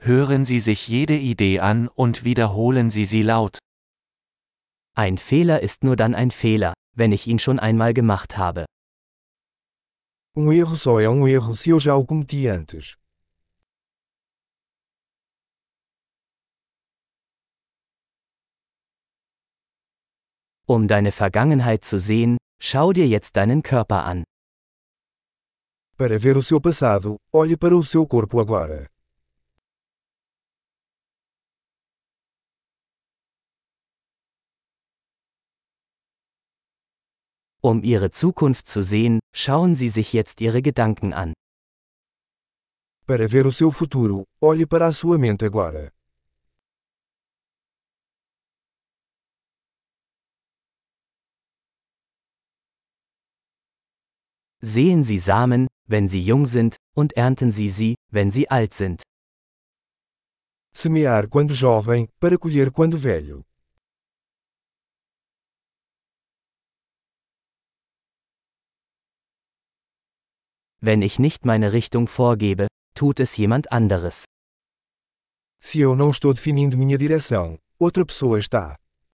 Hören Sie sich jede Idee an und wiederholen Sie sie laut. Ein Fehler ist nur dann ein Fehler, wenn ich ihn schon einmal gemacht habe. Erro só é erro se eu já o cometi antes. Um deine Vergangenheit zu sehen, schau dir jetzt deinen Körper an. Para ver o seu passado, olhe para o seu corpo agora. Um Ihre Zukunft zu sehen, schauen Sie sich jetzt Ihre Gedanken an. Para ver o seu futuro, olhe para a sua mente agora. Sehen Sie Samen, wenn sie jung sind, und ernten Sie sie, wenn sie alt sind. Semear quando jovem, para colher quando velho. Wenn ich nicht meine Richtung vorgebe, tut es jemand anderes. Se eu não estou definindo minha direção, outra pessoa está.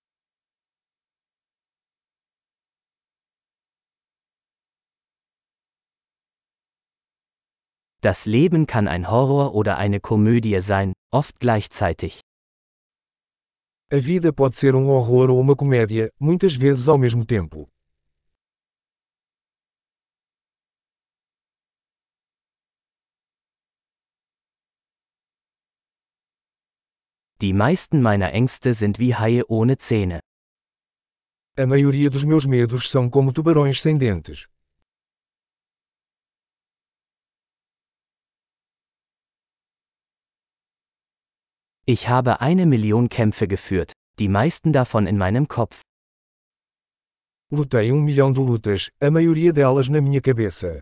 Das Leben kann ein Horror oder eine Komödie sein, oft gleichzeitig. A vida pode ser horror ou uma comédia, muitas vezes ao mesmo tempo. Die meisten meiner Ängste sind wie Haie ohne Zähne. A maioria dos meus medos são como tubarões sem dentes. Ich habe 1 Million Kämpfe geführt, die meisten davon in meinem Kopf. Lutei 1 milhão de lutas, a maioria delas na minha cabeça.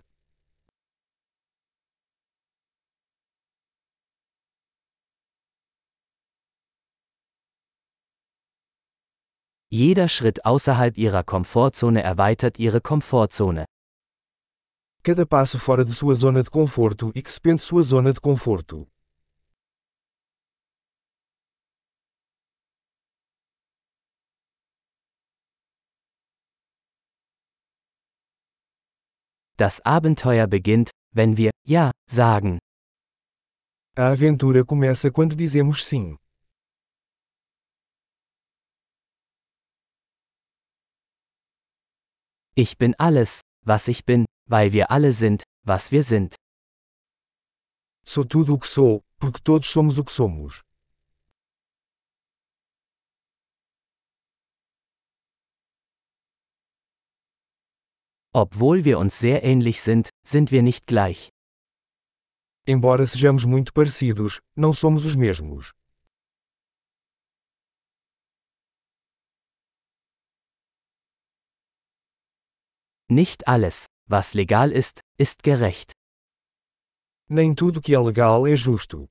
Jeder Schritt außerhalb Ihrer Komfortzone erweitert Ihre Komfortzone. Cada passo fora de sua zona de conforto expande sua zona de conforto. Das Abenteuer beginnt, wenn wir Ja sagen. A aventura começa quando dizemos sim. Ich bin alles, was ich bin, weil wir alle sind, was wir sind. Sou tudo o que sou, porque todos somos o que somos. Obwohl wir uns sehr ähnlich sind, sind wir nicht gleich. Embora sejamos muito parecidos, não somos os mesmos. Nicht alles, was legal ist, ist gerecht. Nem tudo que é legal é justo.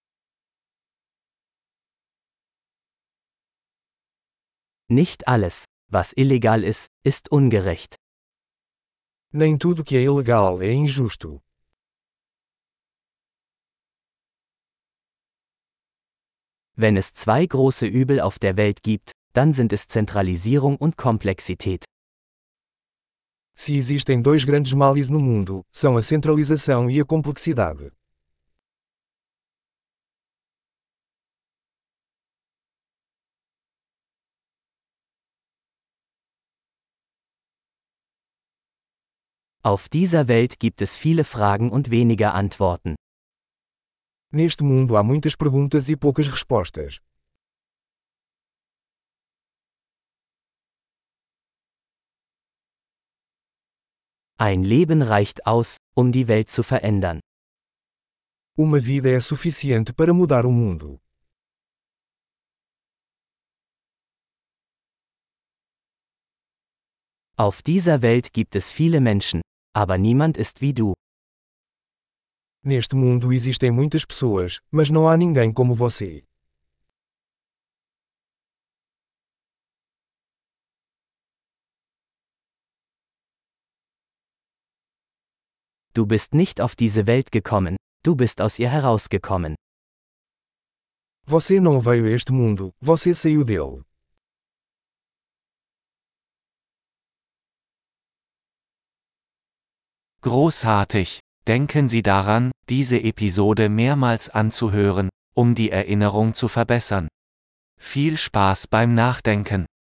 Nicht alles, was illegal ist ungerecht. Nem tudo que é ilegal é injusto. Wenn es 2 große Übel auf der Welt gibt, dann sind es Zentralisierung und Komplexität. Se existem 2 grandes males no mundo, são a centralização e a complexidade. Auf dieser Welt gibt es viele Fragen und weniger Antworten. Neste mundo há muitas perguntas e poucas respostas. Ein Leben reicht aus, um die Welt zu verändern. Uma vida é suficiente para mudar o mundo. Auf dieser Welt gibt es viele Menschen, aber niemand ist wie du. Neste mundo existem muitas pessoas, mas não há ninguém como você. Du bist nicht auf diese Welt gekommen, du bist aus ihr herausgekommen. Você não veio a este mundo, você saiu dele. Großartig! Denken Sie daran, diese Episode mehrmals anzuhören, um die Erinnerung zu verbessern. Viel Spaß beim Nachdenken!